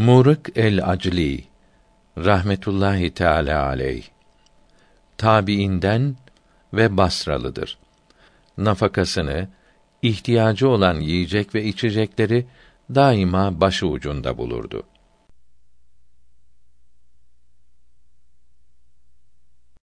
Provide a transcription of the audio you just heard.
Murık el-Acli rahmetullahi teâlâ aleyh tabiinden ve Basralıdır. Nafakasını, ihtiyacı olan yiyecek ve içecekleri daima başı ucunda bulurdu.